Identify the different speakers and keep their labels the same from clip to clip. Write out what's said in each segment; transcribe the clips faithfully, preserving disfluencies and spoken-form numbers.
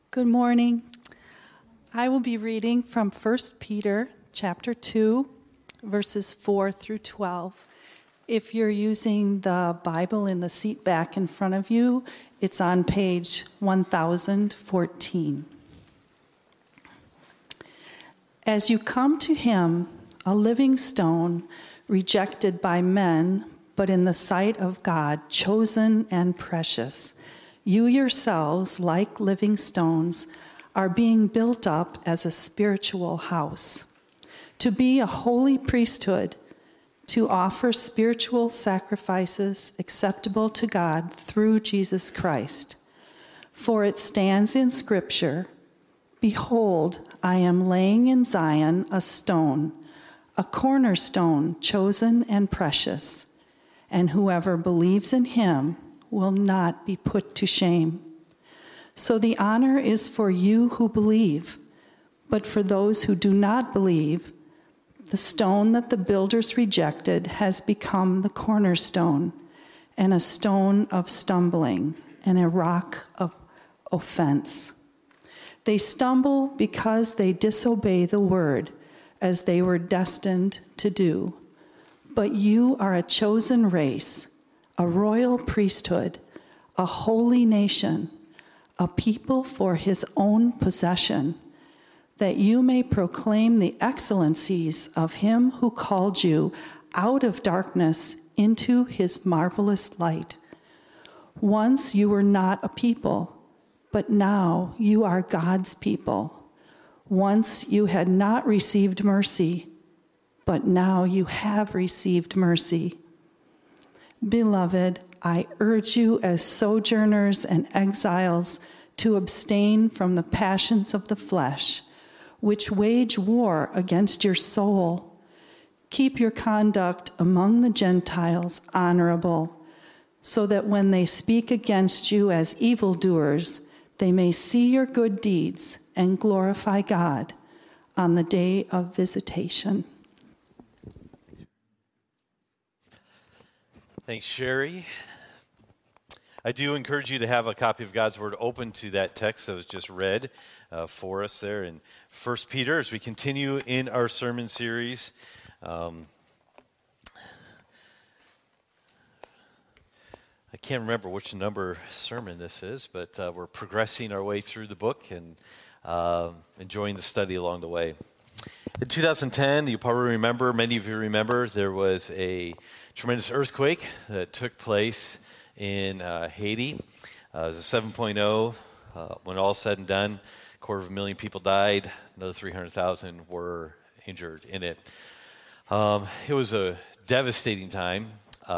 Speaker 1: Good morning. I will be reading from First Peter chapter two, verses four through twelve. If you're using the Bible in the seat back in front of you, it's on page one thousand fourteen. As you come to him, a living stone, rejected by men, but in the sight of God, chosen and precious, you yourselves, like living stones, are being built up as a spiritual house, to be a holy priesthood, to offer spiritual sacrifices acceptable to God through Jesus Christ. For it stands in Scripture, "Behold, I am laying in Zion a stone, a cornerstone chosen and precious, and whoever believes in him will not be put to shame." So the honor is for you who believe, but for those who do not believe, the stone that the builders rejected has become the cornerstone, and a stone of stumbling, and a rock of offense. They stumble because they disobey the word, as they were destined to do. But you are a chosen race, a royal priesthood, a holy nation, a people for his own possession, that you may proclaim the excellencies of him who called you out of darkness into his marvelous light. Once you were not a people, but now you are God's people. Once you had not received mercy, but now you have received mercy. Beloved, I urge you as sojourners and exiles to abstain from the passions of the flesh, which wage war against your soul. Keep your conduct among the Gentiles honorable, so that when they speak against you as evildoers, they may see your good deeds and glorify God on the day of visitation.
Speaker 2: Thanks, Sherry. I do encourage you to have a copy of God's Word open to that text that was just read uh, for us there in First Peter as we continue in our sermon series. Um, I can't remember which number sermon this is, but uh, we're progressing our way through the book and uh, enjoying the study along the way. In two thousand ten, you probably remember, many of you remember, there was a tremendous earthquake that took place in uh, Haiti. Uh, it was a seven point oh. Uh, when all said and done, a quarter of a million people died. Another three hundred thousand were injured in it. Um, it was a devastating time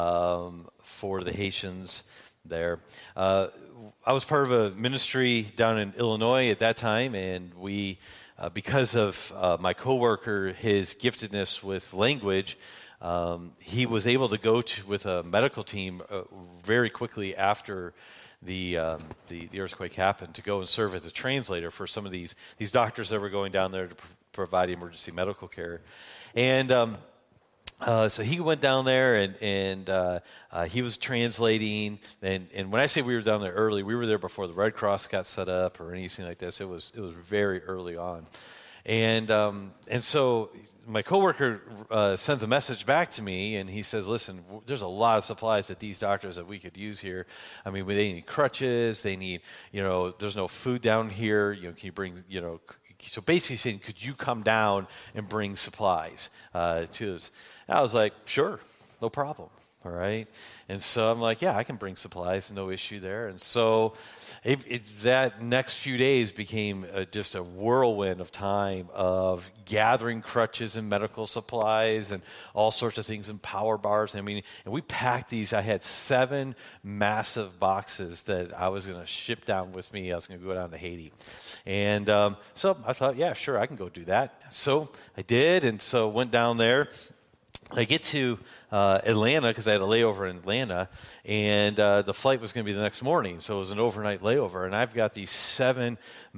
Speaker 2: um, for the Haitians there. Uh, I was part of a ministry down in Illinois at that time, and we, uh, because of uh, my coworker, his giftedness with language, Um, he was able to go to, with a medical team uh, very quickly after the, um, the the earthquake happened to go and serve as a translator for some of these these doctors that were going down there to pr- provide emergency medical care. And um, uh, so he went down there and, and uh, uh, he was translating. And, and when I say we were down there early, we were there before the Red Cross got set up or anything like this. It was it was very early on. And um, and so my coworker uh, sends a message back to me, and he says, "Listen, w- there's a lot of supplies that these doctors that we could use here. I mean, they need crutches. They need, you know, there's no food down here. You know, can you bring, you know?" C- so basically saying, "Could you come down and bring supplies uh, to us?" And I was like, "Sure, no problem." All right. And so I'm like, yeah, I can bring supplies, no issue there. And so it, it, that next few days became a, just a whirlwind of time of gathering crutches and medical supplies and all sorts of things and power bars. I mean, and we packed these. I had seven massive boxes that I was going to ship down with me. I was going to go down to Haiti. And um, so I thought, yeah, sure, I can go do that. So I did. And so went down there. I get to uh, Atlanta because I had a layover in Atlanta, and uh, the flight was going to be the next morning, so it was an overnight layover. And I've got these seven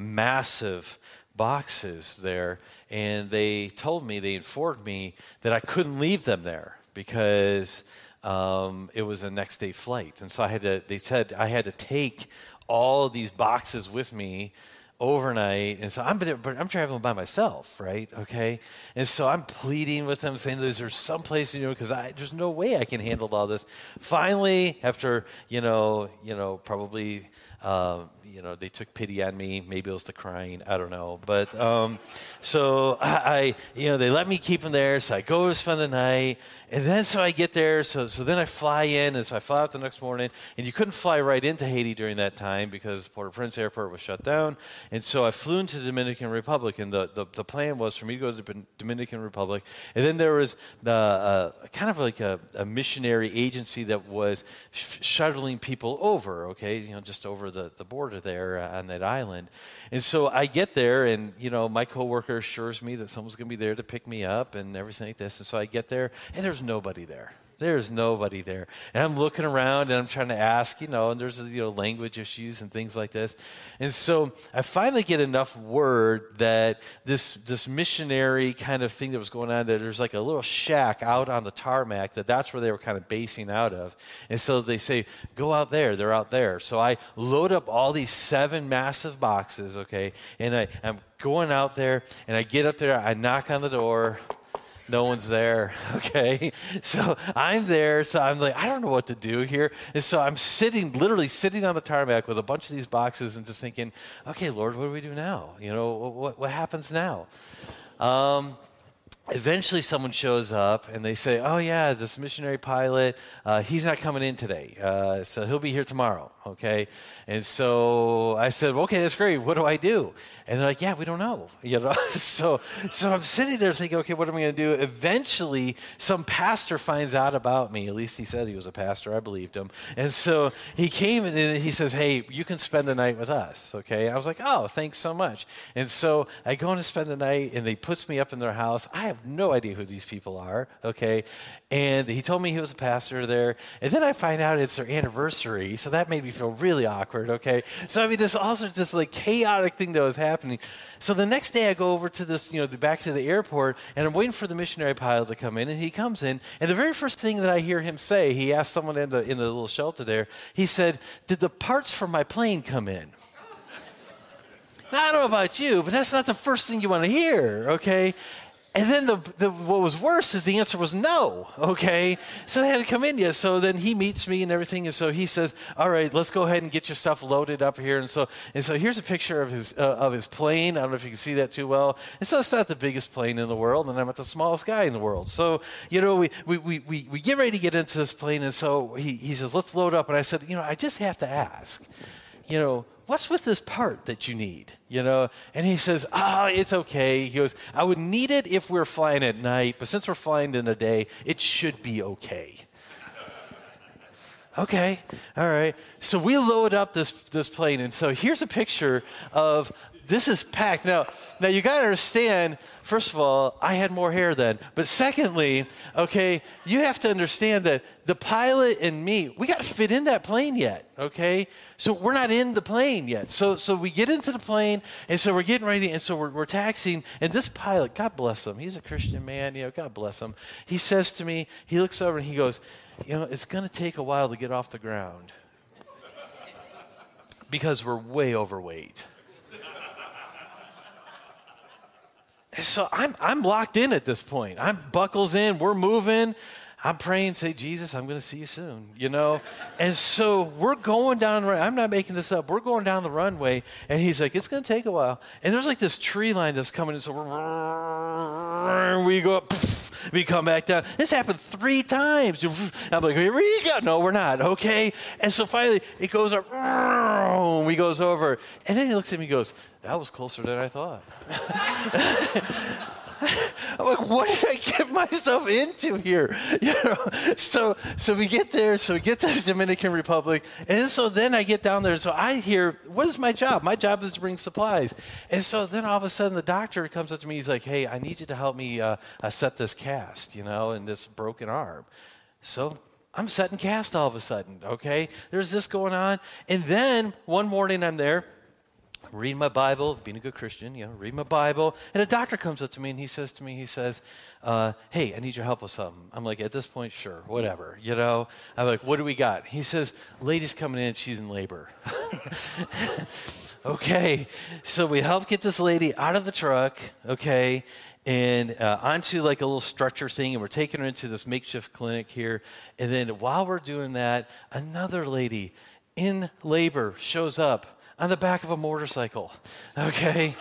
Speaker 2: massive boxes there, and they told me, they informed me that I couldn't leave them there because um, it was a next day flight. And so I had to. They said I had to take all of these boxes with me overnight. And so I'm, but I'm traveling by myself, right? Okay. And so I'm pleading with them, saying, is there some place, you know, because I there's no way I can handle all this. Finally, after, you know, you know, probably, uh, you know, they took pity on me. Maybe it was the crying. I don't know. But um, so I, I, you know, they let me keep them there. So I go to spend the night. And then so I get there. So so then I fly in. And so I fly out the next morning. And you couldn't fly right into Haiti during that time because Port-au-Prince Airport was shut down. And so I flew into the Dominican Republic. And the, the, the plan was for me to go to the Dominican Republic. And then there was the, uh, kind of like a, a missionary agency that was sh- shuttling people over, okay, you know, just over the, the border there uh, on that island. And so I get there, and, you know, my coworker assures me that someone's going to be there to pick me up and everything like this. And so I get there, and there's nobody there. There's nobody there. And I'm looking around, and I'm trying to ask, you know, and there's, you know, language issues and things like this. And so I finally get enough word that this this missionary kind of thing that was going on, that there's like a little shack out on the tarmac, that that's where they were kind of basing out of. And so they say, go out there. They're out there. So I load up all these seven massive boxes, okay, and I, I'm going out there, and I get up there. I knock on the door. No one's there, okay? So I'm there, so I'm like, I don't know what to do here. And so I'm sitting, literally sitting on the tarmac with a bunch of these boxes and just thinking, okay, Lord, what do we do now? You know, what, what happens now? Um, eventually someone shows up, and they say, oh, yeah, this missionary pilot, uh, he's not coming in today, uh, so he'll be here tomorrow, okay? And so I said, okay, that's great. What do I do? And they're like, yeah, we don't know. You know, so so I'm sitting there thinking, okay, what am I going to do? Eventually, some pastor finds out about me. At least he said he was a pastor. I believed him. And so he came and he says, hey, you can spend the night with us, okay? I was like, oh, thanks so much. And so I go in to spend the night, and they puts me up in their house. I have no idea who these people are, okay? And he told me he was a pastor there. And then I find out it's their anniversary, so that made me feel really awkward, okay? So, I mean, there's also this, like, chaotic thing that was happening. So the next day I go over to this, you know, back to the airport, and I'm waiting for the missionary pilot to come in, and he comes in, and the very first thing that I hear him say, he asked someone in the, in the little shelter there, he said, did the parts for my plane come in? Now, I don't know about you, but that's not the first thing you want to hear, okay? And then the, the what was worse is the answer was no, okay? So they had to come in yet. So then he meets me and everything, and so he says, all right, let's go ahead and get your stuff loaded up here. And so and so here's a picture of his uh, of his plane. I don't know if you can see that too well. And so it's not the biggest plane in the world, and I'm not the smallest guy in the world. So, you know, we we we we, we get ready to get into this plane, and so he, he says, let's load up. And I said, you know, I just have to ask, you know, what's with this part that you need, you know? And he says, ah, oh, it's okay. He goes, I would need it if we we're flying at night, but since we're flying in the day, it should be okay. Okay, all right. So we load up this this plane, and so here's a picture of, this is packed. Now, now you got to understand, first of all, I had more hair then. But secondly, okay, you have to understand that the pilot and me, we got to fit in that plane yet, okay? So we're not in the plane yet. So so we get into the plane, and so we're getting ready, and so we're, we're taxiing. And this pilot, God bless him, he's a Christian man, you know, God bless him. He says to me, he looks over and he goes, you know, it's going to take a while to get off the ground because we're way overweight. So I'm I'm locked in at this point. I'm buckles in. We're moving. I'm praying, say, Jesus, I'm going to see you soon, you know? And so we're going down, I'm not making this up, we're going down the runway, and he's like, it's going to take a while. And there's like this tree line that's coming in, so we're, we go up, we come back down. This happened three times. I'm like, here we go. No, we're not, okay? And so finally, it goes up, he goes over, and then he looks at me and goes, that was closer than I thought. I'm like, what did I get myself into here? You know, so so we get there, so we get to the Dominican Republic, and so then I get down there, so I hear, what is my job? My job is to bring supplies. And so then all of a sudden the doctor comes up to me, he's like, hey, I need you to help me uh, uh, set this cast, you know, in this broken arm. So I'm setting cast all of a sudden, okay? There's this going on. And then one morning I'm there, reading my Bible, being a good Christian, you know, reading my Bible, and a doctor comes up to me and he says to me, he says, uh, hey, I need your help with something. I'm like, at this point, sure, whatever, you know. I'm like, what do we got? He says, lady's coming in, she's in labor. Okay, so we help get this lady out of the truck, okay, and uh, onto like a little stretcher thing, and we're taking her into this makeshift clinic here. And then while we're doing that, another lady in labor shows up on the back of a motorcycle, okay?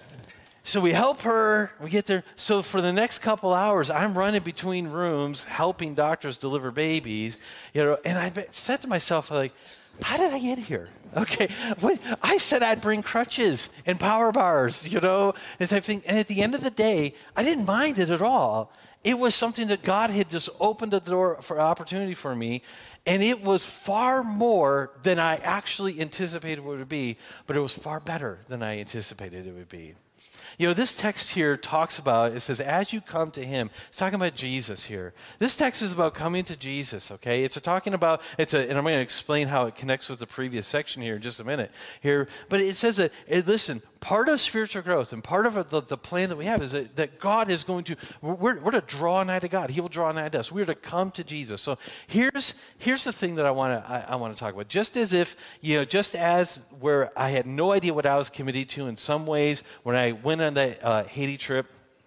Speaker 2: So we help her, we get there. So for the next couple hours, I'm running between rooms helping doctors deliver babies, you know, and I said to myself, like, how did I get here? Okay, when I said I'd bring crutches and power bars, you know, and type thing. And at the end of the day, I didn't mind it at all. It was something that God had just opened the door for opportunity for me, and it was far more than I actually anticipated it would be, but it was far better than I anticipated it would be. You know, this text here talks about, it says, as you come to him. It's talking about Jesus here. This text is about coming to Jesus, okay? It's a talking about, it's a, and I'm going to explain how it connects with the previous section here in just a minute here. But it says that, it, listen, part of spiritual growth and part of the, the plan that we have is that, that God is going to, we're, we're to draw nigh to God. He will draw nigh to us. We're to come to Jesus. So here's here's the thing that I want to I, I want to talk about. Just as if, you know, just as where I had no idea what I was committed to in some ways when I went on that uh, Haiti trip,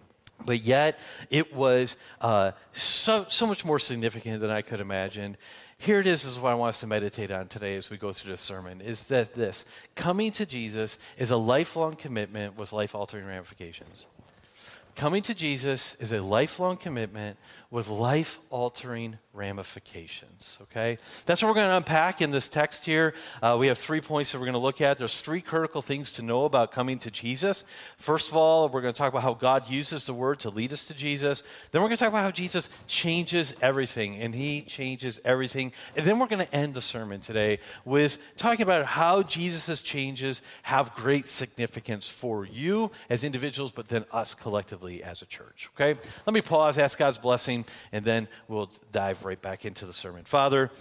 Speaker 2: but yet it was uh, so so much more significant than I could imagine. Here it is, is what I want us to meditate on today as we go through this sermon, is that this, coming to Jesus is a lifelong commitment with life-altering ramifications. Coming to Jesus is a lifelong commitment with life-altering ramifications, okay? That's what we're going to unpack in this text here. Uh, we have three points that we're going to look at. There's three critical things to know about coming to Jesus. First of all, we're going to talk about how God uses the word to lead us to Jesus. Then we're going to talk about how Jesus changes everything, and he changes everything. And then we're going to end the sermon today with talking about how Jesus' changes have great significance for you as individuals, but then us collectively as a church, okay? Let me pause, ask God's blessing, and then we'll dive right back into the sermon. Father,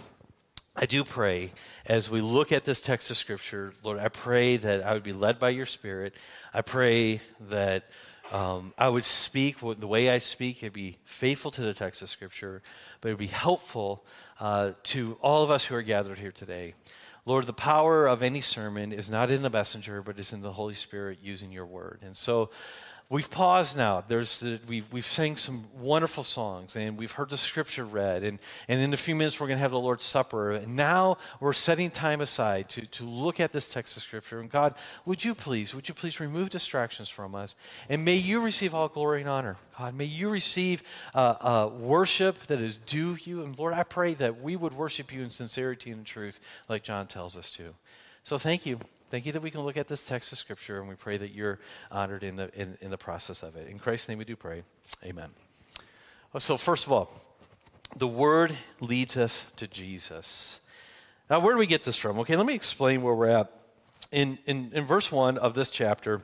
Speaker 2: I do pray as we look at this text of Scripture, Lord, I pray that I would be led by your Spirit. I pray that um, I would speak the way I speak. It'd be faithful to the text of Scripture, but it would be helpful uh, to all of us who are gathered here today. Lord, the power of any sermon is not in the messenger, but is in the Holy Spirit using your word. And so we've paused now. There's uh, we've we've sang some wonderful songs, and we've heard the scripture read, and, and in a few minutes we're going to have the Lord's Supper. And now we're setting time aside to, to look at this text of Scripture. And God, would you please, would you please remove distractions from us, and may you receive all glory and honor. God, may you receive uh, uh, worship that is due you. And Lord, I pray that we would worship you in sincerity and truth like John tells us to. So thank you. Thank you that we can look at this text of Scripture, and we pray that you're honored in the in, in the process of it. In Christ's name we do pray. Amen. So first of all, the Word leads us to Jesus. Now, where do we get this from? Okay, let me explain where we're at. In, in, in verse one of this chapter,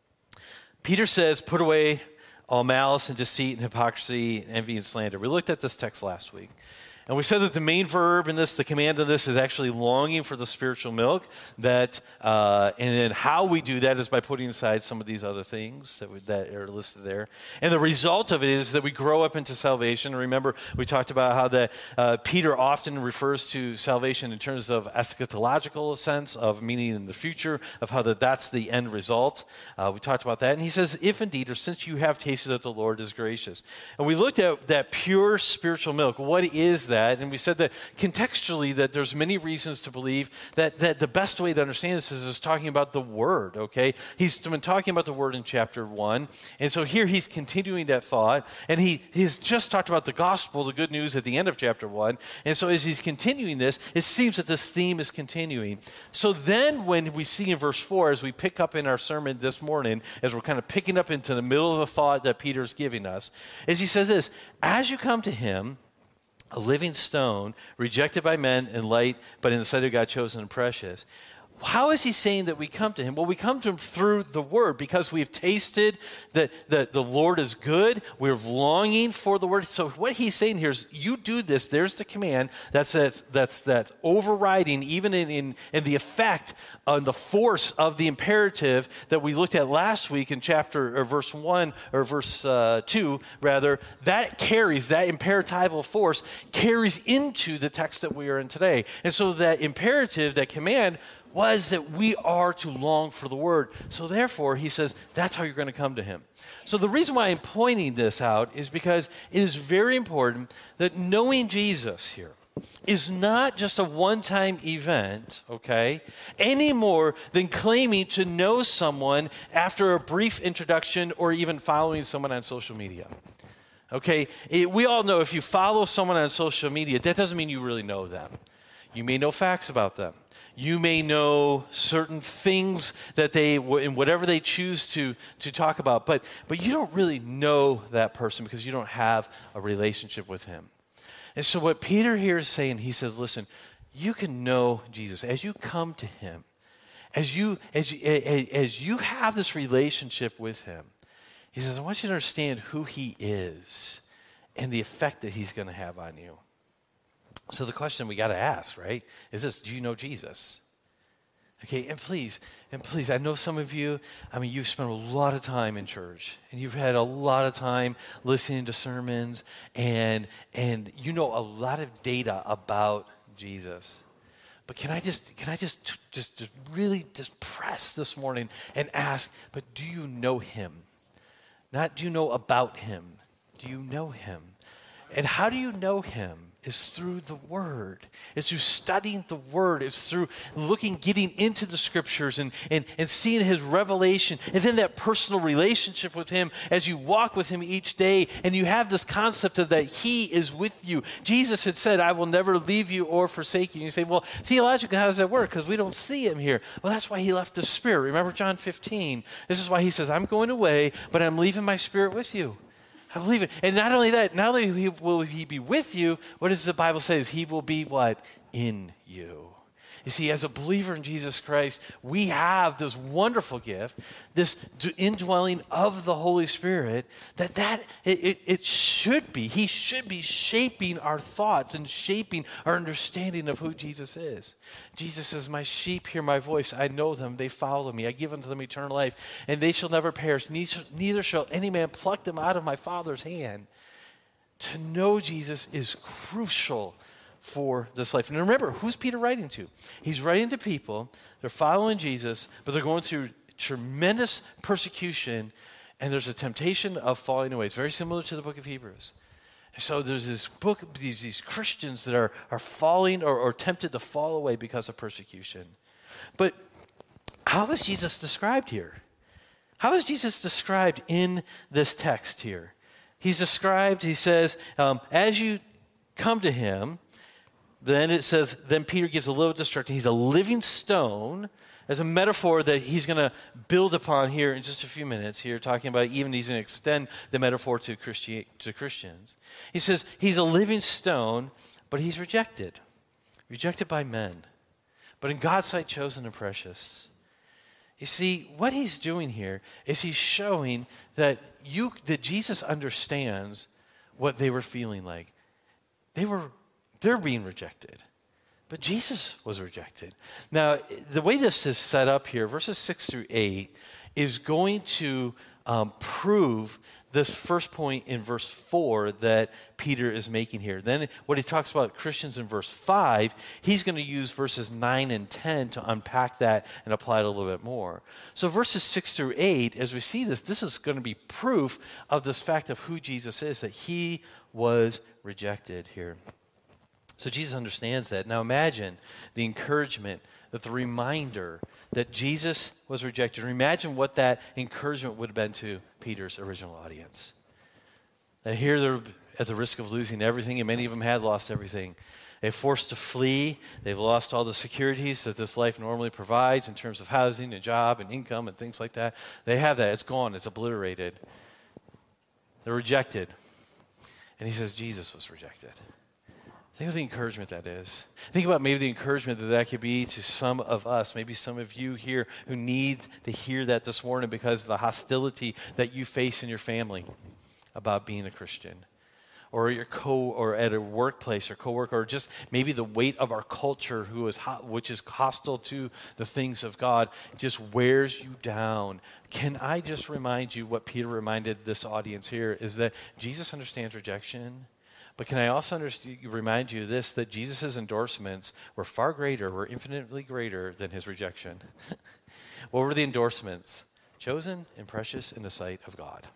Speaker 2: Peter says, put away all malice and deceit and hypocrisy, and envy and slander. We looked at this text last week. And we said that the main verb in this, the command of this, is actually longing for the spiritual milk. That, uh, and then how we do that is by putting aside some of these other things that, we, that are listed there. And the result of it is that we grow up into salvation. Remember, we talked about how that uh, Peter often refers to salvation in terms of eschatological sense, of meaning in the future, of how that that's the end result. Uh, we talked about that. And he says, if indeed, or since you have tasted that the Lord is gracious. And we looked at that pure spiritual milk. What is that? And we said that contextually that there's many reasons to believe that, that the best way to understand this is, is talking about the Word, okay? He's been talking about the Word in chapter one. And so here he's continuing that thought. And he he's just talked about the gospel, the good news at the end of chapter one. And so as he's continuing this, it seems that this theme is continuing. So then when we see in verse four, as we pick up in our sermon this morning, as we're kind of picking up into the middle of a thought that Peter's giving us, is he says this, as you come to him, a living stone, rejected by men and light, but in the sight of God chosen and precious. how is he saying that we come to him? Well, we come to him through the word because we've tasted that the, the Lord is good. We're longing for the word. So what he's saying here is you do this. There's the command that's that's that's, that's overriding even in, in, in the effect on the force of the imperative that we looked at last week in chapter or verse one or verse uh, two, rather. That carries, that imperatival force carries into the text that we are in today. And so that imperative, that command, was that we are to long for the word. So therefore, he says, that's how you're going to come to him. So the reason why I'm pointing this out is because it is very important that knowing Jesus here is not just a one-time event, okay, any more than claiming to know someone after a brief introduction or even following someone on social media. Okay, it, we all know if you follow someone on social media, that doesn't mean you really know them. You may know facts about them. You may know certain things that they, in whatever they choose to, to talk about, but, but you don't really know that person because you don't have a relationship with him. And so what Peter here is saying, he says, listen, you can know Jesus as you come to him, as you, as you, as you have this relationship with him. He says, I want you to understand who he is and the effect that he's going to have on you. So the question we got to ask, right, is this: do you know Jesus? Okay, and please, and please, I know some of you, I mean, you've spent a lot of time in church, and you've had a lot of time listening to sermons, and and you know a lot of data about Jesus. But can I just, can I just, just, just really just press this morning and ask, but do you know him? Not do you know about him, do you know him? And how do you know him? Is through the Word. It's through studying the Word. It's through looking, getting into the Scriptures and, and, and seeing his revelation. And then that personal relationship with him as you walk with him each day. And you have this concept of that he is with you. Jesus had said, I will never leave you or forsake you. And you say, well, theologically, how does that work? Because we don't see him here. Well, that's why he left the Spirit. Remember John fifteen? This is why he says, I'm going away, but I'm leaving my Spirit with you. I believe it. And not only that, not only will he be with you, what does the Bible say? Is he will be what? In you. You see, as a believer in Jesus Christ, we have this wonderful gift, this indwelling of the Holy Spirit, that, that it, it, it should be, he should be shaping our thoughts and shaping our understanding of who Jesus is. Jesus says, my sheep hear my voice. I know them. They follow me. I give unto them eternal life, and they shall never perish. Neither, neither shall any man pluck them out of my Father's hand. To know Jesus is crucial for this life. And remember, who's Peter writing to? He's writing to people, they're following Jesus, but they're going through tremendous persecution, and there's a temptation of falling away. It's very similar to the book of Hebrews. So there's this book, these, these Christians that are, are falling or, or tempted to fall away because of persecution. But how is Jesus described here? How is Jesus described in this text here? He's described, he says, um, as you come to him, then it says, then Peter gives a little instruction. He's a living stone as a metaphor that he's going to build upon here in just a few minutes here, talking about even he's going to extend the metaphor to, Christi- to Christians. He says he's a living stone, but he's rejected. Rejected by men, but in God's sight chosen and precious. You see, what he's doing here is he's showing that you that Jesus understands what they were feeling like. They were They're being rejected. But Jesus was rejected. Now, the way this is set up here, verses six through eight, is going to um, prove this first point in verse four that Peter is making here. Then when he talks about Christians in verse five, he's going to use verses nine and ten to unpack that and apply it a little bit more. So verses six through eight, as we see this, this is going to be proof of this fact of who Jesus is, that he was rejected here. So Jesus understands that. Now imagine the encouragement, that the reminder that Jesus was rejected. Imagine what that encouragement would have been to Peter's original audience. That here they're at the risk of losing everything, and many of them had lost everything. They're forced to flee. They've lost all the securities that this life normally provides in terms of housing and job and income and things like that. They have that. It's gone. It's obliterated. They're rejected. And he says Jesus was rejected. Think of the encouragement that is. Think about maybe the encouragement that that could be to some of us, maybe some of you here who need to hear that this morning because of the hostility that you face in your family about being a Christian, or your co, or at a workplace or coworker, or just maybe the weight of our culture, who is ho- which is hostile to the things of God, just wears you down. Can I just remind you what Peter reminded this audience here is that Jesus understands rejection. But can I also understand, remind you this, that Jesus' endorsements were far greater, were infinitely greater than his rejection. What were the endorsements? Chosen and precious in the sight of God.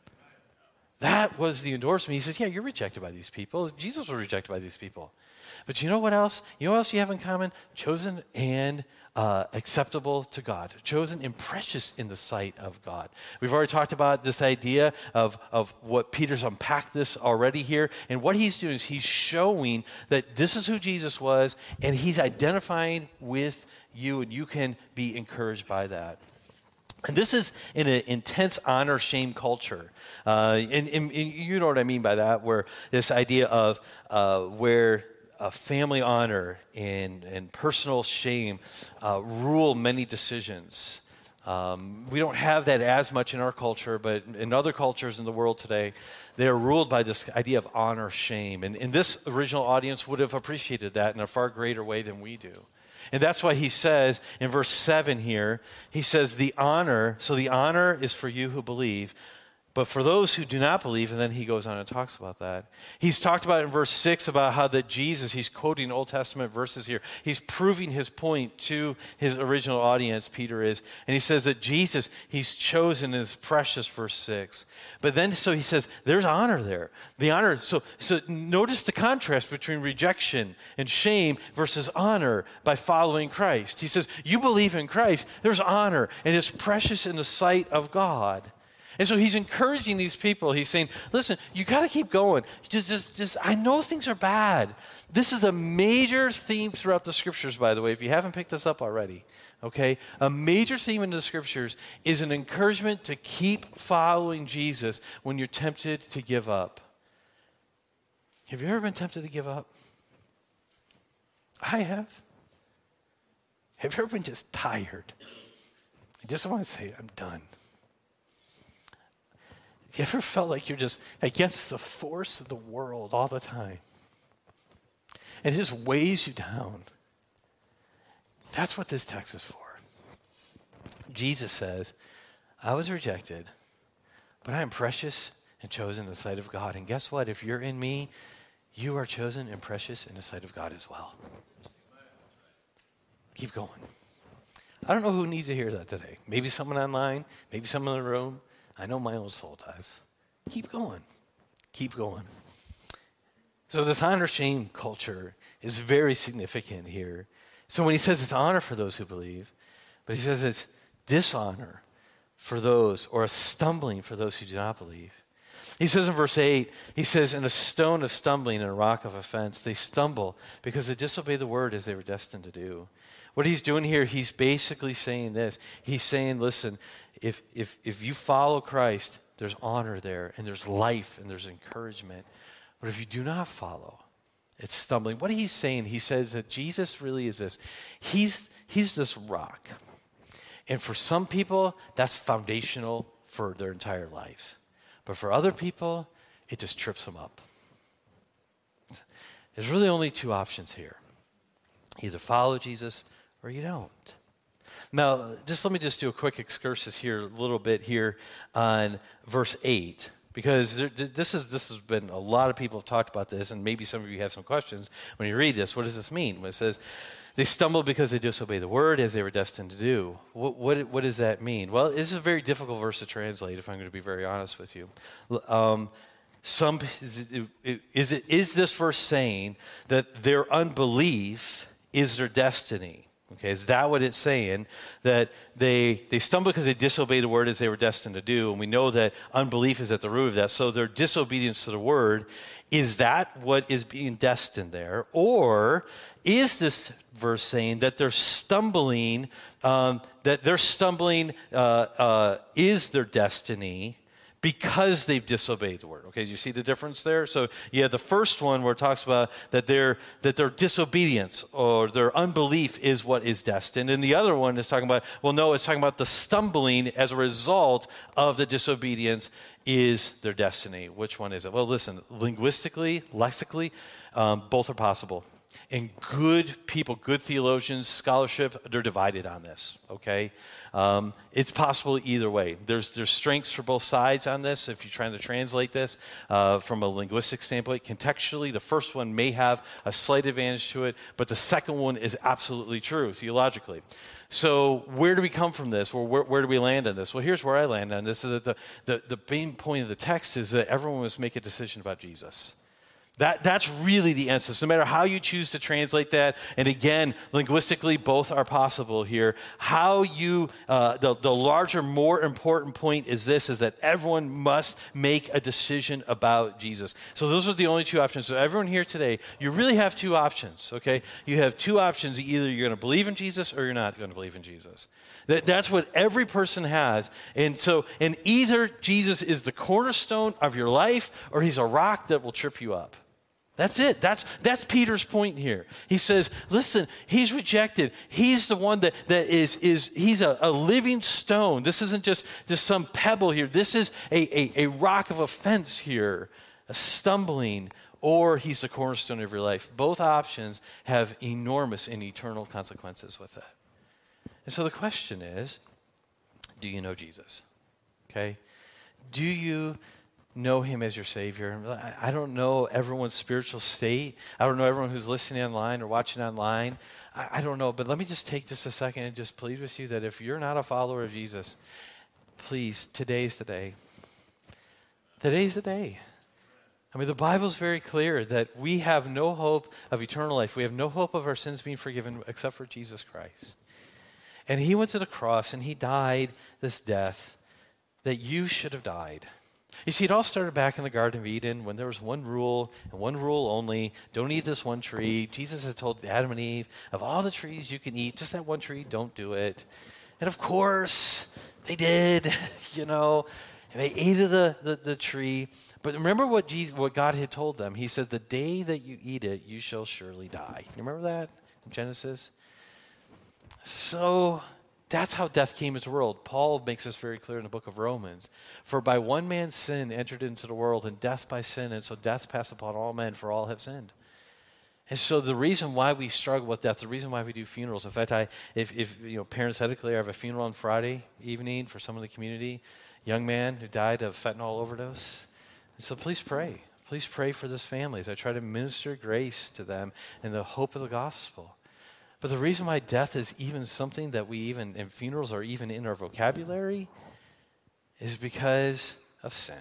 Speaker 2: That was the endorsement. He says, yeah, you're rejected by these people. Jesus was rejected by these people. But you know what else? You know what else you have in common? Chosen and uh, acceptable to God. Chosen and precious in the sight of God. We've already talked about this idea of, of what Peter's unpacked this already here. And what he's doing is he's showing that this is who Jesus was, and he's identifying with you, and you can be encouraged by that. And this is in an intense honor-shame culture. Uh, and, and, and you know what I mean by that, where this idea of uh, where uh, family honor and, and personal shame uh, rule many decisions. Um, we don't have that as much in our culture, but in other cultures in the world today, they are ruled by this idea of honor-shame. And, and this original audience would have appreciated that in a far greater way than we do. And that's why he says in verse seven here, he says the honor, so the honor is for you who believe, but for those who do not believe, and then he goes on and talks about that. He's talked about in verse six about how that Jesus, he's quoting Old Testament verses here. He's proving his point to his original audience, Peter is. And he says that Jesus, he's chosen and is precious, verse six. But then, so he says, there's honor there. The honor, so, so notice the contrast between rejection and shame versus honor by following Christ. He says, you believe in Christ, there's honor, and it's precious in the sight of God. And so he's encouraging these people. He's saying, listen, you got to keep going. Just, just, just, I know things are bad. This is a major theme throughout the scriptures, by the way, if you haven't picked this up already. Okay? A major theme in the scriptures is an encouragement to keep following Jesus when you're tempted to give up. Have you ever been tempted to give up? I have. Have you ever been just tired? I just want to say, I'm done. You ever felt like you're just against the force of the world all the time? And it just weighs you down. That's what this text is for. Jesus says, I was rejected, but I am precious and chosen in the sight of God. And guess what? If you're in me, you are chosen and precious in the sight of God as well. Keep going. I don't know who needs to hear that today. Maybe someone online, maybe someone in the room. I know my own soul does. Keep going. Keep going. So this honor-shame culture is very significant here. So when he says it's honor for those who believe, but he says it's dishonor for those, or a stumbling for those who do not believe. He says in verse eight, he says, in a stone of stumbling and a rock of offense, they stumble because they disobey the word as they were destined to do. What he's doing here, he's basically saying this. He's saying, listen, if if if you follow Christ, there's honor there, and there's life, and there's encouragement. But if you do not follow, it's stumbling. What he's saying, he says that Jesus really is this. He's he's this rock. And for some people, that's foundational for their entire lives. But for other people, it just trips them up. There's really only two options here. Either follow Jesus or you don't. Now, just let me just do a quick excursus here, a little bit here on verse eight, because there, this is this has been, a lot of people have talked about this, and maybe some of you have some questions when you read this. What does this mean? When it says, they stumble because they disobey the word as they were destined to do. What, what, what does that mean? Well, this is a very difficult verse to translate, if I'm going to be very honest with you. Um, some is, it, is, it, is this verse saying that their unbelief is their destiny? Okay, is that what it's saying? That they they stumble because they disobey the word as they were destined to do, and we know that unbelief is at the root of that. So their disobedience to the word, is that what is being destined there? Or is this verse saying that they're stumbling, um, that they're stumbling uh, uh, is their destiny because they've disobeyed the word. Okay, do you see the difference there? So you have the first one where it talks about that their that their disobedience or their unbelief is what is destined. And the other one is talking about, well, no, it's talking about the stumbling as a result of the disobedience is their destiny. Which one is it? Well, listen, linguistically, lexically, um, both are possible. And good people, good theologians, scholarship, they're divided on this, okay? Um, it's possible either way. There's there's strengths for both sides on this if you're trying to translate this uh, from a linguistic standpoint. Contextually, the first one may have a slight advantage to it, but the second one is absolutely true theologically. So where do we come from this? Well, where, where do we land on this? Well, here's where I land on this. Is that the, the, the main point of the text is that everyone must make a decision about Jesus. That, that's really the essence, no matter how you choose to translate that. And again, linguistically, both are possible here. How you, uh, the, the larger, more important point is this, is that everyone must make a decision about Jesus. So those are the only two options. So everyone here today, you really have two options, okay? You have two options. Either you're going to believe in Jesus or you're not going to believe in Jesus. That, that's what every person has. And so, and either Jesus is the cornerstone of your life or he's a rock that will trip you up. That's it. That's that's Peter's point here. He says, listen, he's rejected. He's the one that, that is, is he's a, a living stone. This isn't just, just some pebble here. This is a, a, a rock of offense here, a stumbling, or he's the cornerstone of your life. Both options have enormous and eternal consequences with it. And so the question is, do you know Jesus? Okay? Do you know him as your Savior? I don't know everyone's spiritual state. I don't know everyone who's listening online or watching online. I, I don't know, but let me just take just a second and just plead with you that if you're not a follower of Jesus, please, today's the day. Today's the day. I mean, the Bible's very clear that we have no hope of eternal life. We have no hope of our sins being forgiven except for Jesus Christ. And he went to the cross and he died this death that you should have died. You see, it all started back in the Garden of Eden when there was one rule and one rule only. Don't eat this one tree. Jesus had told Adam and Eve, of all the trees you can eat, just that one tree, don't do it. And of course, they did, you know, and they ate of the, the, the tree. But remember what Jesus, what God had told them. He said, the day that you eat it, you shall surely die. You remember that in Genesis? So that's how death came into the world. Paul makes this very clear in the book of Romans. For by one man's sin entered into the world, and death by sin, and so death passed upon all men, for all have sinned. And so the reason why we struggle with death, the reason why we do funerals, in fact, I, if, if you know, parenthetically, I have a funeral on Friday evening for someone in the community, young man who died of fentanyl overdose. And so please pray. Please pray for this family as I try to minister grace to them in the hope of the gospel. But the reason why death is even something that we even, and funerals are even in our vocabulary, is because of sin.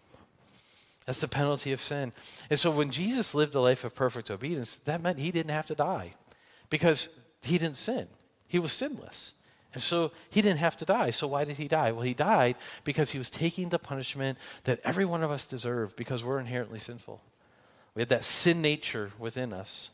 Speaker 2: That's the penalty of sin. And so when Jesus lived a life of perfect obedience, that meant he didn't have to die because he didn't sin. He was sinless. And so he didn't have to die. So why did he die? Well, he died because he was taking the punishment that every one of us deserve because we're inherently sinful. We had that sin nature within us.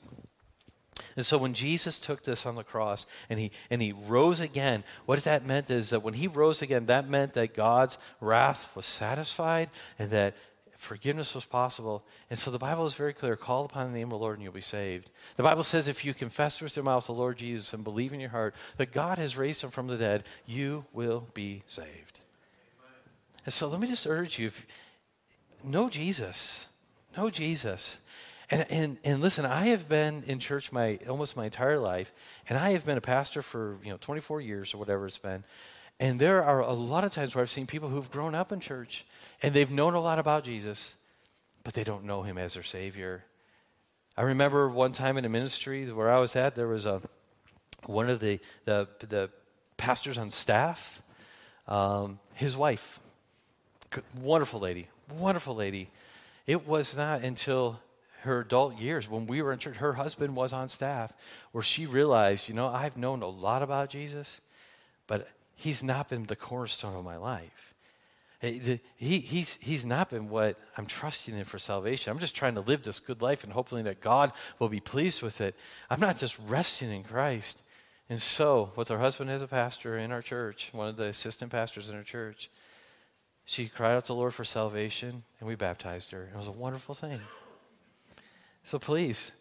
Speaker 2: And so when Jesus took this on the cross and he and he rose again, what that meant is that when he rose again, that meant that God's wrath was satisfied and that forgiveness was possible. And so the Bible is very clear. Call upon the name of the Lord and you'll be saved. The Bible says if you confess with your mouth the Lord Jesus and believe in your heart that God has raised him from the dead, you will be saved. Amen. And so let me just urge you, if, know Jesus. Know Jesus. And, and and listen, I have been in church my almost my entire life, and I have been a pastor for you know twenty-four years or whatever it's been. And there are a lot of times where I've seen people who've grown up in church, and they've known a lot about Jesus, but they don't know him as their Savior. I remember one time in a ministry where I was at, there was a one of the the, the pastors on staff, um, his wife, wonderful lady, wonderful lady. It was not until her adult years, when we were in church, her husband was on staff, where she realized, you know, I've known a lot about Jesus, but he's not been the cornerstone of my life. He, he's, he's not been what I'm trusting in for salvation. I'm just trying to live this good life and hoping that God will be pleased with it. I'm not just resting in Christ. And so, with her husband as a pastor in our church, one of the assistant pastors in our church, she cried out to the Lord for salvation, and we baptized her. It was a wonderful thing. So please,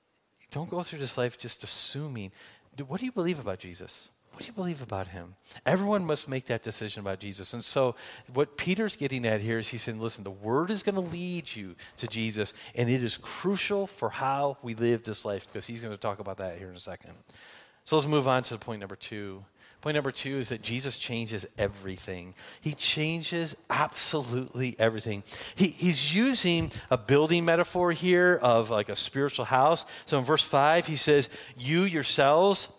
Speaker 2: don't go through this life just assuming. What do you believe about Jesus? What do you believe about him? Everyone must make that decision about Jesus. And so what Peter's getting at here is he's saying, listen, the word is going to lead you to Jesus, and it is crucial for how we live this life, because he's going to talk about that here in a second. So let's move on to point number two. Point number two is that Jesus changes everything. He changes absolutely everything. He, he's using a building metaphor here of like a spiritual house. So in verse five, he says, you yourselves,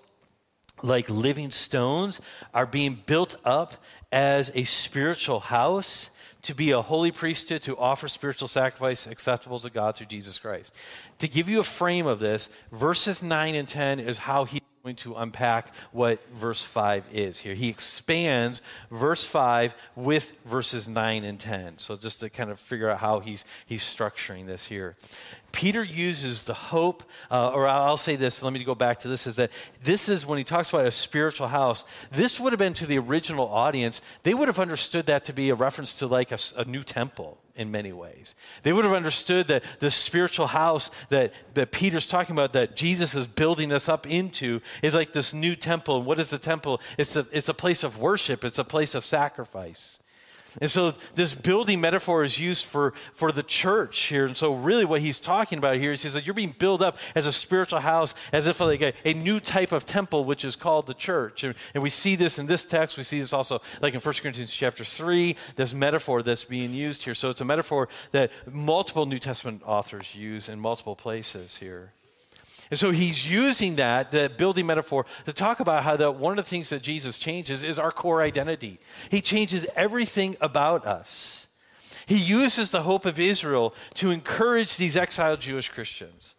Speaker 2: like living stones, are being built up as a spiritual house to be a holy priesthood, to offer spiritual sacrifice acceptable to God through Jesus Christ. To give you a frame of this, verses nine and ten is how he going to unpack what verse five is here. He expands verse five with verses nine and ten. So just to kind of figure out how he's he's structuring this here. Peter uses the hope, uh, or I'll say this, let me go back to this, is that this is, when he talks about a spiritual house, this would have been to the original audience, they would have understood that to be a reference to like a, a new temple in many ways. They would have understood that the spiritual house that, that Peter's talking about, that Jesus is building us up into, is like this new temple. And what is the temple? It's a, it's a place of worship. It's a place of sacrifice. And so this building metaphor is used for, for the church here. And so really what he's talking about here is he says you're being built up as a spiritual house, as if like a, a new type of temple, which is called the church. And, and we see this in this text. We see this also like in First Corinthians chapter three, this metaphor that's being used here. So it's a metaphor that multiple New Testament authors use in multiple places here. And so he's using that, the building metaphor, to talk about how that one of the things that Jesus changes is our core identity. He changes everything about us. He uses the hope of Israel to encourage these exiled Jewish Christians.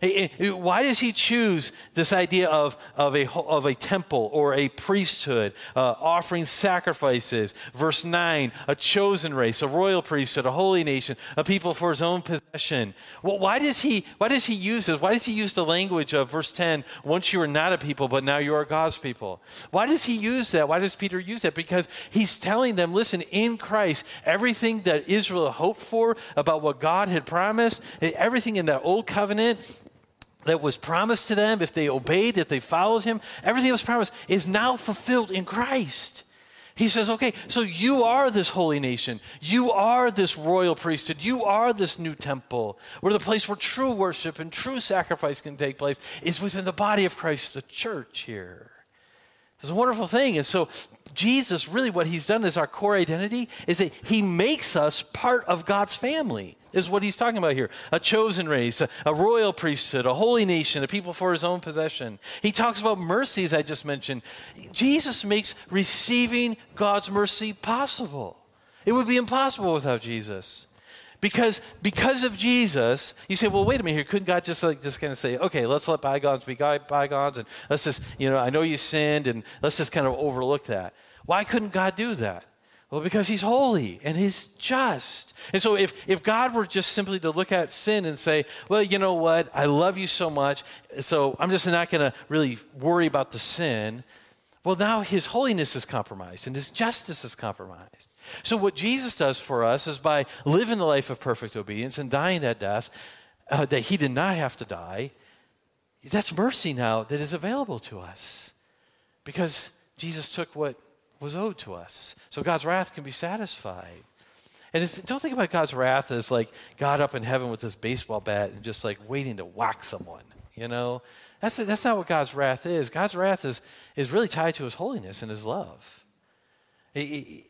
Speaker 2: Why does he choose this idea of, of, a, of a temple or a priesthood, uh, offering sacrifices? Verse nine, a chosen race, a royal priesthood, a holy nation, a people for his own possession. Well, why does he, why does he use this? Why does he use the language of verse ten, once you were not a people, but now you are God's people? Why does he use that? Why does Peter use that? Because he's telling them, listen, in Christ, everything that Israel hoped for about what God had promised, everything in that old covenant that was promised to them, if they obeyed, if they followed him, everything that was promised is now fulfilled in Christ. He says, okay, so you are this holy nation. You are this royal priesthood. You are this new temple, where the place where true worship and true sacrifice can take place is within the body of Christ, the church here. It's a wonderful thing. And so Jesus, really what he's done is our core identity is that he makes us part of God's family, is what he's talking about here. A chosen race, a, a royal priesthood, a holy nation, a people for his own possession. He talks about mercy, as I just mentioned. Jesus makes receiving God's mercy possible. It would be impossible without Jesus. Because because of Jesus, you say, well, wait a minute here. Couldn't God just like just kind of say, okay, let's let bygones be bygones, and let's just, you know, I know you sinned, and let's just kind of overlook that. Why couldn't God do that? Well, because he's holy and he's just. And so if, if God were just simply to look at sin and say, well, you know what, I love you so much, so I'm just not going to really worry about the sin, well, now his holiness is compromised and his justice is compromised. So what Jesus does for us is by living the life of perfect obedience and dying that death, uh, that he did not have to die, that's mercy now that is available to us because Jesus took what was owed to us. So God's wrath can be satisfied. And it's, don't think about God's wrath as like God up in heaven with his baseball bat and just like waiting to whack someone, you know? That's, that's not what God's wrath is. God's wrath is, is really tied to his holiness and his love. He, he,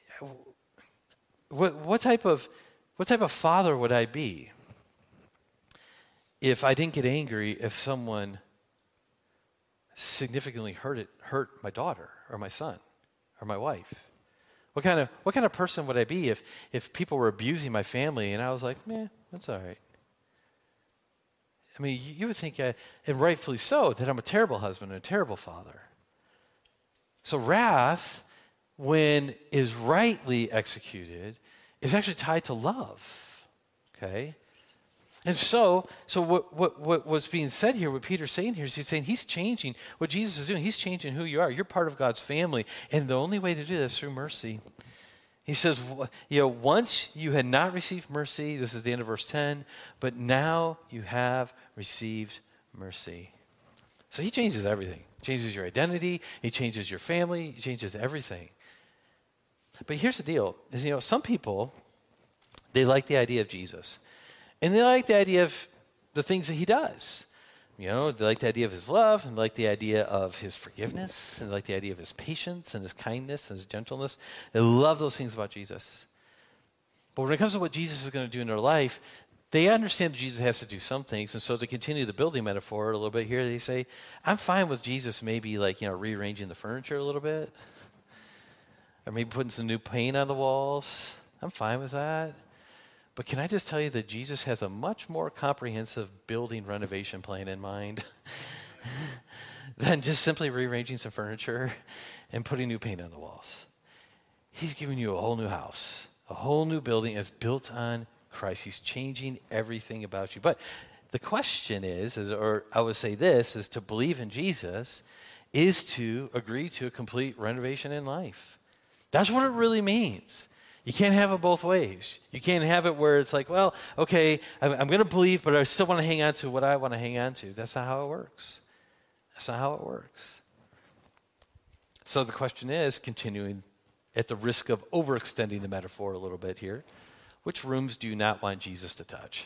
Speaker 2: what, what type of what type of father would I be if I didn't get angry if someone significantly hurt it, hurt my daughter or my son or my wife? What kind of what kind of person would I be if if people were abusing my family and I was like, meh, that's all right? I mean, you would think, I, and rightfully so, that I'm a terrible husband and a terrible father. So wrath, when is rightly executed, is actually tied to love, okay? And so, so what, what, what was being said here, what Peter's saying here, is he's saying he's changing, what Jesus is doing, he's changing who you are. You're part of God's family, and the only way to do that is through mercy. He says, you know, once you had not received mercy, this is the end of verse ten, but now you have received mercy. So he changes everything. He changes your identity. He changes your family. He changes everything. But here's the deal, is, you know, some people, they like the idea of Jesus. And they like the idea of the things that he does. You know, they like the idea of his love, and they like the idea of his forgiveness, and they like the idea of his patience and his kindness and his gentleness. They love those things about Jesus. But when it comes to what Jesus is going to do in their life, they understand that Jesus has to do some things. And so to continue the building metaphor a little bit here, they say, I'm fine with Jesus maybe like, you know, rearranging the furniture a little bit. Or maybe putting some new paint on the walls. I'm fine with that. But can I just tell you that Jesus has a much more comprehensive building renovation plan in mind than just simply rearranging some furniture and putting new paint on the walls. He's giving you a whole new house, a whole new building that's built on Christ. He's changing everything about you. But the question is, is, or I would say this, is to believe in Jesus is to agree to a complete renovation in life. That's what it really means. You can't have it both ways. You can't have it where it's like, well, okay, I'm, I'm going to believe, but I still want to hang on to what I want to hang on to. That's not how it works. That's not how it works. So the question is, continuing at the risk of overextending the metaphor a little bit here, which rooms do you not want Jesus to touch?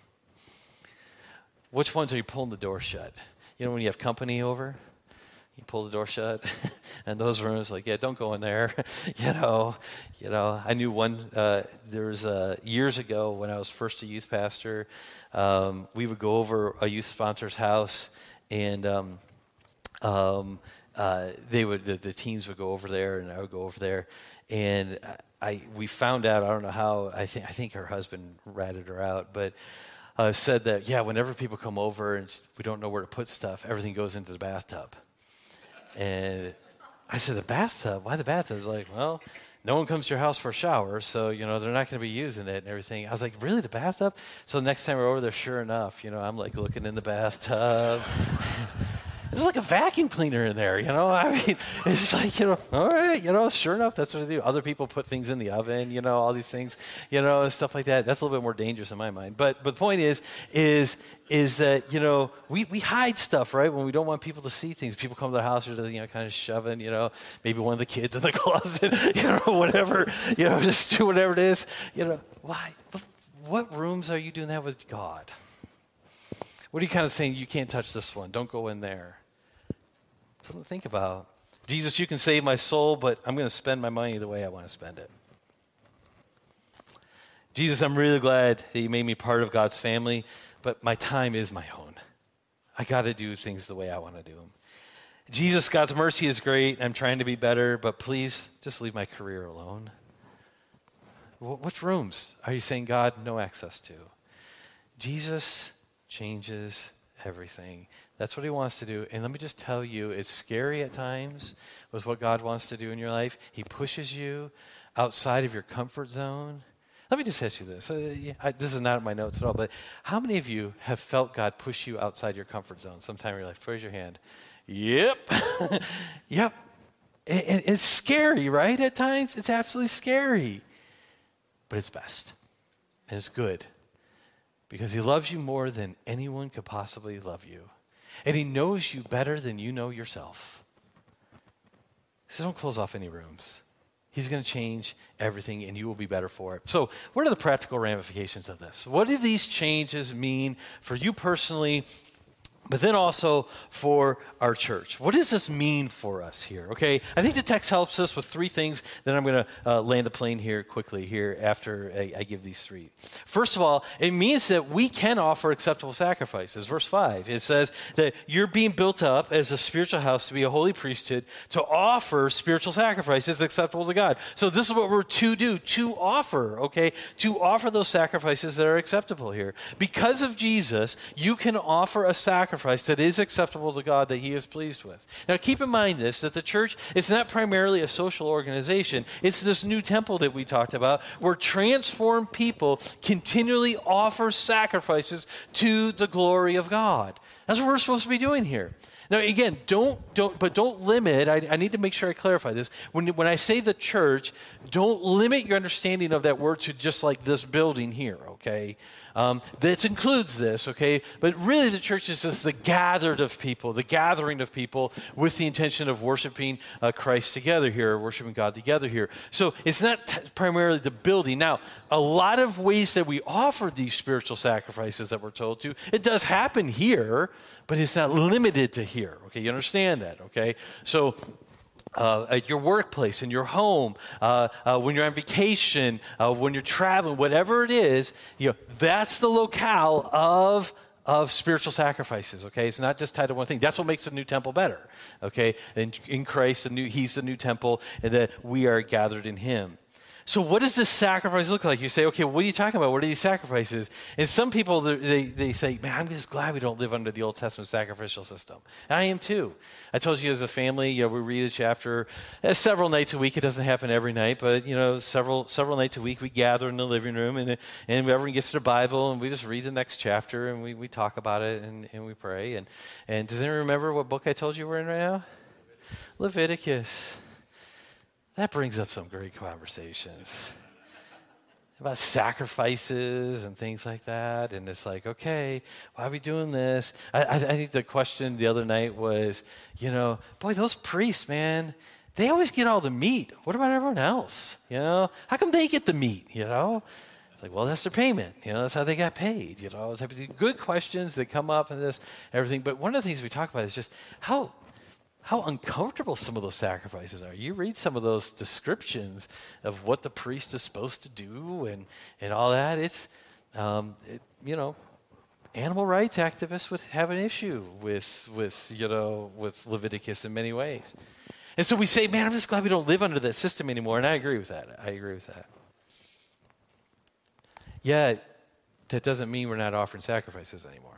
Speaker 2: Which ones are you pulling the door shut? You know when you have company over? You pull the door shut, and those rooms, like, yeah, don't go in there. you know, you know. I knew one. Uh, there was uh, years ago when I was first a youth pastor. Um, we would go over a youth sponsor's house, and um, um, uh, they would the, the teens would go over there, and I would go over there, and I we found out. I don't know how. I think I think her husband ratted her out, but. Uh, said that yeah, whenever people come over and we don't know where to put stuff, everything goes into the bathtub. And I said, the bathtub? Why the bathtub? Like, well, no one comes to your house for a shower, so, you know, they're not going to be using it and everything. I was like, really, the bathtub? So next time we're over there, sure enough, you know, I'm like looking in the bathtub. There's like a vacuum cleaner in there, you know? I mean, it's like, you know, all right, you know, sure enough, that's what I do. Other people put things in the oven, you know, all these things, you know, and stuff like that. That's a little bit more dangerous in my mind. But but the point is, is is that, you know, we, we hide stuff, right, when we don't want people to see things. People come to the house, they're, you know, kind of shoving, you know, maybe one of the kids in the closet, you know, whatever, you know, just do whatever it is. You know, why? What rooms are you doing that with God? What are you kind of saying? You can't touch this one. Don't go in there. Something to think about. Jesus, you can save my soul, but I'm going to spend my money the way I want to spend it. Jesus, I'm really glad that you made me part of God's family, but my time is my own. I got to do things the way I want to do them. Jesus, God's mercy is great. I'm trying to be better, but please just leave my career alone. Which rooms are you saying God no access to? Jesus changes everything. That's what he wants to do. And let me just tell you, it's scary at times with what God wants to do in your life. He pushes you outside of your comfort zone. Let me just ask you this. Uh, yeah, I, this is not in my notes at all, but how many of you have felt God push you outside your comfort zone sometime in your life? Raise your hand. Yep. yep. And, and it's scary, right? At times, it's absolutely scary. But it's best. And it's good. Because he loves you more than anyone could possibly love you. And he knows you better than you know yourself. So don't close off any rooms. He's going to change everything, and you will be better for it. So what are the practical ramifications of this? What do these changes mean for you personally, but then also for our church? What does this mean for us here? Okay, I think the text helps us with three things. Then I'm going to uh, land the plane here quickly here after I, I give these three. First of all, it means that we can offer acceptable sacrifices. Verse five, it says that you're being built up as a spiritual house to be a holy priesthood to offer spiritual sacrifices acceptable to God. So this is what we're to do, to offer, okay, to offer those sacrifices that are acceptable here. Because of Jesus, you can offer a sacrifice that is acceptable to God, that he is pleased with. Now keep in mind this, that the church is not primarily a social organization. It's this new temple that we talked about where transformed people continually offer sacrifices to the glory of God. That's what we're supposed to be doing here. Now, again, don't, don't, but don't limit, I, I need to make sure I clarify this. When, when I say the church, don't limit your understanding of that word to just like this building here, okay? Um, this includes this, okay? But really the church is just the gathered of people, the gathering of people with the intention of worshiping uh, Christ together here, worshiping God together here. So it's not t- primarily the building. Now, a lot of ways that we offer these spiritual sacrifices that we're told to, it does happen here, but it's not limited to here, okay? You understand that, okay? So Uh, at your workplace, in your home, uh, uh, when you're on vacation, uh, when you're traveling, whatever it is, you know, that's the locale of of spiritual sacrifices, okay? It's not just tied to one thing. That's what makes the new temple better, okay? And in Christ, the new, he's the new temple, and that we are gathered in him. So what does this sacrifice look like? You say, okay, what are you talking about? What are these sacrifices? And some people, they, they say, man, I'm just glad we don't live under the Old Testament sacrificial system. And I am too. I told you as a family, you know, we read a chapter uh, several nights a week. It doesn't happen every night, but, you know, several several nights a week we gather in the living room, and and everyone gets their Bible, and we just read the next chapter, and we, we talk about it, and, and we pray. And, and does anyone remember what book I told you we're in right now? Leviticus. That brings up some great conversations about sacrifices and things like that. And it's like, okay, why are we doing this? I, I, I think the question the other night was, you know, boy, those priests, man, they always get all the meat. What about everyone else? You know, how come they get the meat, you know? It's like, well, that's their payment. You know, that's how they got paid. You know, it's good questions that come up and this, everything. But one of the things we talk about is just how... how uncomfortable some of those sacrifices are. You read some of those descriptions of what the priest is supposed to do and, and all that. It's, um, it, you know, animal rights activists would have an issue with, with, you know, with Leviticus in many ways. And so we say, man, I'm just glad we don't live under that system anymore. And I agree with that. I agree with that. Yet, that doesn't mean we're not offering sacrifices anymore.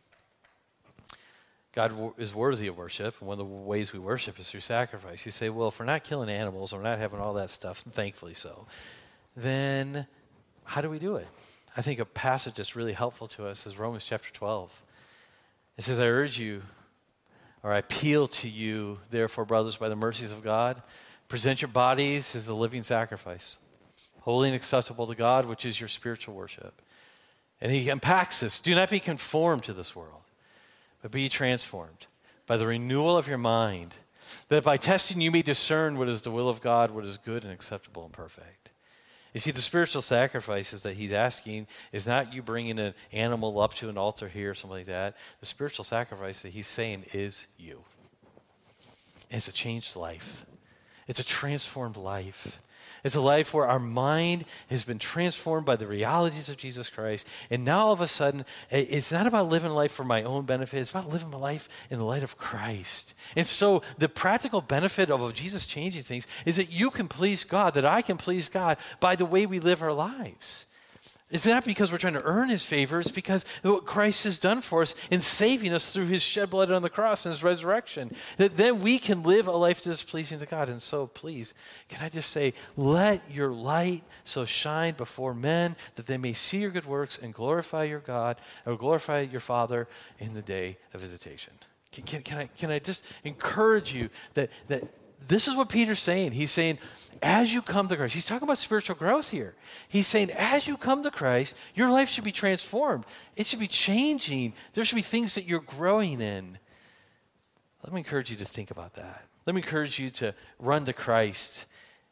Speaker 2: God is worthy of worship, and one of the ways we worship is through sacrifice. You say, well, if we're not killing animals, or we're not having all that stuff, and thankfully so, then how do we do it? I think a passage that's really helpful to us is Romans chapter twelve. It says, I urge you, or I appeal to you, therefore, brothers, by the mercies of God, present your bodies as a living sacrifice, holy and acceptable to God, which is your spiritual worship. And he unpacks this. Do not be conformed to this world, but be transformed by the renewal of your mind, that by testing you may discern what is the will of God, what is good and acceptable and perfect. You see, the spiritual sacrifices that he's asking is not you bringing an animal up to an altar here or something like that. The spiritual sacrifice that he's saying is you. And it's a changed life. It's a transformed life. It's a life where our mind has been transformed by the realities of Jesus Christ. And now all of a sudden, it's not about living life for my own benefit. It's about living my life in the light of Christ. And so the practical benefit of Jesus changing things is that you can please God, that I can please God by the way we live our lives. It's not because we're trying to earn his favor. It's because of what Christ has done for us in saving us through his shed blood on the cross and his resurrection. That then we can live a life that is pleasing to God. And so please, can I just say, let your light so shine before men that they may see your good works and glorify your God, or glorify your Father in the day of visitation. Can, can, can, I, can I just encourage you that, that this is what Peter's saying. He's saying, as you come to Christ, he's talking about spiritual growth here. He's saying, as you come to Christ, your life should be transformed. It should be changing. There should be things that you're growing in. Let me encourage you to think about that. Let me encourage you to run to Christ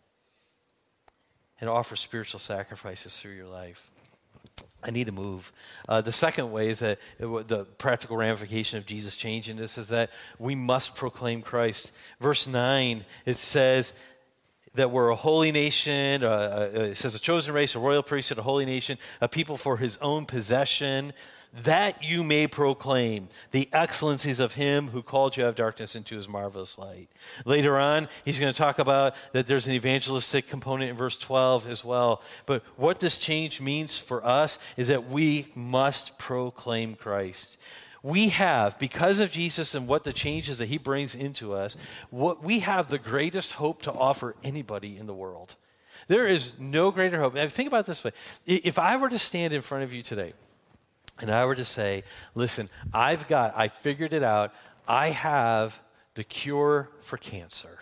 Speaker 2: and offer spiritual sacrifices through your life. I need to move. Uh, the second way is that it, the practical ramification of Jesus changing this is that we must proclaim Christ. Verse nine, it says that we're a holy nation. Uh, uh, it says a chosen race, a royal priesthood, a holy nation, a people for his own possession, that you may proclaim the excellencies of him who called you out of darkness into his marvelous light. Later on, he's going to talk about that there's an evangelistic component in verse twelve as well. But what this change means for us is that we must proclaim Christ. We have, because of Jesus and what the changes that he brings into us, what we have the greatest hope to offer anybody in the world. There is no greater hope. Now, think about it this way. If I were to stand in front of you today, and I were to say, listen, I've got, I figured it out. I have the cure for cancer.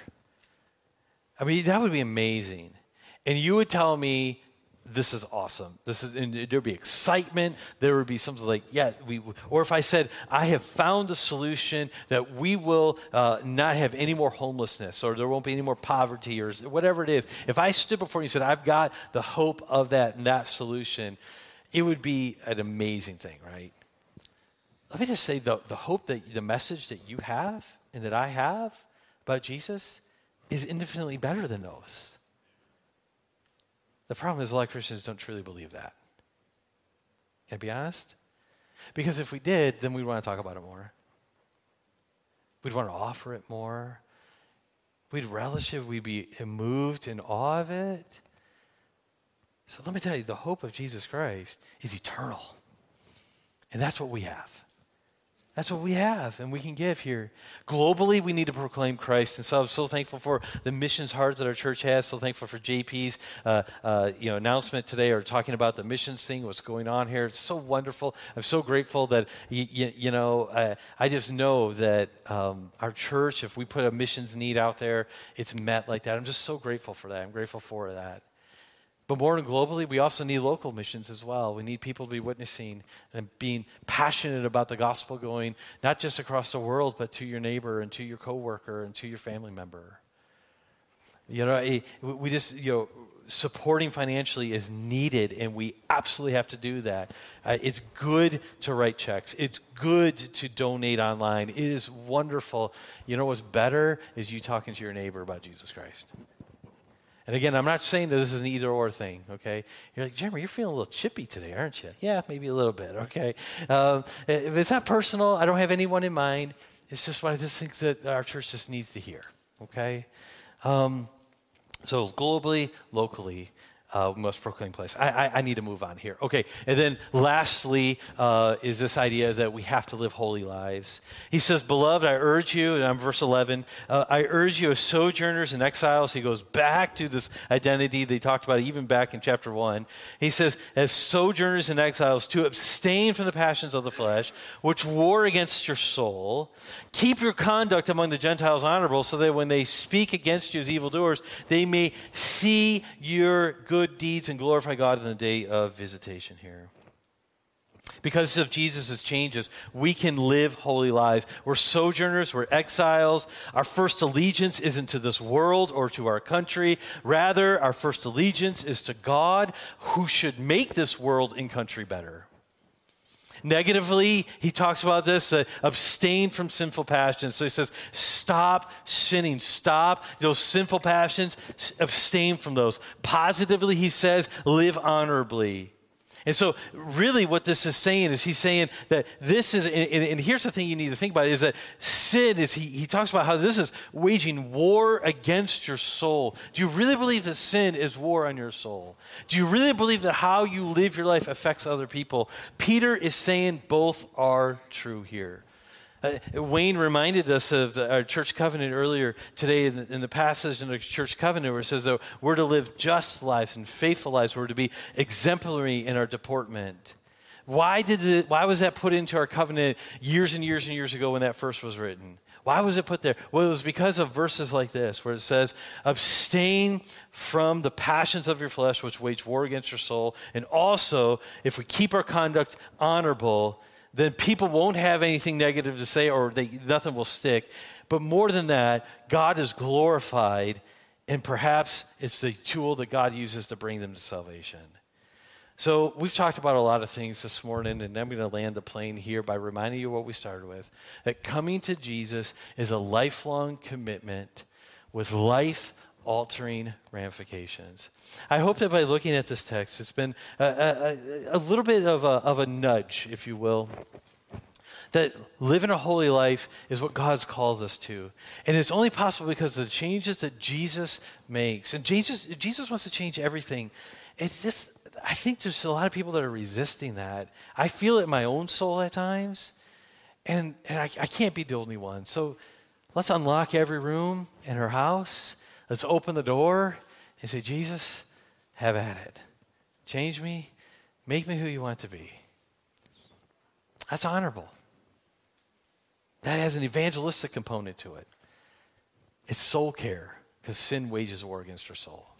Speaker 2: I mean, that would be amazing. And you would tell me, this is awesome. This is, and there'd be excitement. There would be something like, yeah, we, or if I said, I have found a solution that we will uh, not have any more homelessness, or there won't be any more poverty, or whatever it is. If I stood before you and said, I've got the hope of that and that solution, it would be an amazing thing, right? Let me just say, the, the hope that the message that you have and that I have about Jesus is infinitely better than those. The problem is a lot of Christians don't truly believe that. Can I be honest? Because if we did, then we'd want to talk about it more. We'd want to offer it more. We'd relish it. We'd be moved in awe of it. So let me tell you, the hope of Jesus Christ is eternal. And that's what we have. That's what we have, and we can give here. Globally, we need to proclaim Christ, and so I'm so thankful for the missions heart that our church has. So thankful for J P's uh, uh, you know announcement today, or talking about the missions thing, what's going on here. It's so wonderful. I'm so grateful that y- y- you know uh, I just know that um, our church, if we put a missions need out there, it's met like that. I'm just so grateful for that. I'm grateful for that. But more than globally, we also need local missions as well. We need people to be witnessing and being passionate about the gospel, going not just across the world, but to your neighbor and to your coworker and to your family member. You know, we just, you know, supporting financially is needed, and we absolutely have to do that. Uh, it's good to write checks. It's good to donate online. It is wonderful. You know what's better is you talking to your neighbor about Jesus Christ. And again, I'm not saying that this is an either-or thing, okay? You're like, Jeremy, you're feeling a little chippy today, aren't you? Yeah, maybe a little bit, okay? Um, it's not personal. I don't have anyone in mind. It's just what I just think that our church just needs to hear, okay? Um, so globally, locally, uh, we must proclaim Christ. I, I, I need to move on here. Okay, and then lastly uh, is this idea that we have to live holy lives. He says, beloved, I urge you, and I'm verse eleven, uh, I urge you as sojourners and exiles. He goes back to this identity they talked about even back in chapter one. He says, as sojourners and exiles, to abstain from the passions of the flesh, which war against your soul. Keep your conduct among the Gentiles honorable, so that when they speak against you as evildoers, they may see your good deeds and glorify God in the day of visitation here. Because of Jesus' changes, we can live holy lives. We're sojourners, we're exiles. Our first allegiance isn't to this world or to our country. Rather, our first allegiance is to God, who should make this world and country better. Negatively, he talks about this, uh, abstain from sinful passions. So he says, stop sinning, stop those sinful passions, abstain from those. Positively, he says, live honorably. And so really what this is saying is he's saying that this is, and, and here's the thing you need to think about, is that sin is, he, he talks about how this is waging war against your soul. Do you really believe that sin is war on your soul? Do you really believe that how you live your life affects other people? Peter is saying both are true here. Uh, Wayne reminded us of the, our church covenant earlier today in the, in the passage in the church covenant where it says that we're to live just lives and faithful lives. We're to be exemplary in our deportment. Why did it, why was that put into our covenant years and years and years ago when that first was written? Why was it put there? Well, it was because of verses like this where it says, abstain from the passions of your flesh which wage war against your soul. And also, if we keep our conduct honorable, then people won't have anything negative to say, or they, nothing will stick. But more than that, God is glorified, and perhaps it's the tool that God uses to bring them to salvation. So we've talked about a lot of things this morning, and I'm going to land the plane here by reminding you what we started with, that coming to Jesus is a lifelong commitment with life altering ramifications. I hope that by looking at this text, it's been a, a, a little bit of a, of a nudge, if you will, that living a holy life is what God's called us to. And it's only possible because of the changes that Jesus makes. And Jesus, Jesus wants to change everything. It's just, I think there's a lot of people that are resisting that. I feel it in my own soul at times, and, and I, I can't be the only one. So let's unlock every room in our house. Let's open the door and say, Jesus, have at it. Change me. Make me who you want to be. That's honorable. That has an evangelistic component to it. It's soul care, because sin wages war against our soul.